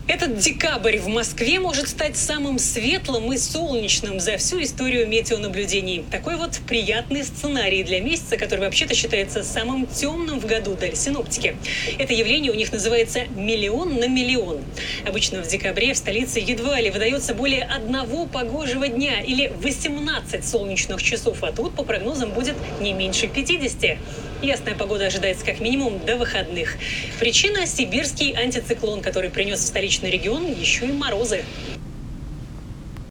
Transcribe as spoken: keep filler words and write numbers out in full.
Этот декабрь в Москве может стать самым светлым и солнечным за всю историю метеонаблюдений. Такой вот приятный сценарий для месяца, который вообще-то считается самым темным в году для синоптики. Это явление у них называется «миллион на миллион». Обычно в декабре в столице едва ли выдается более одного погожего дня или восемнадцать солнечных часов, а тут, по прогнозам, будет не меньше пятидесяти. Ясная погода ожидается как минимум до выходных. Причина – сибирский антициклон, который принес в столичный регион еще и морозы.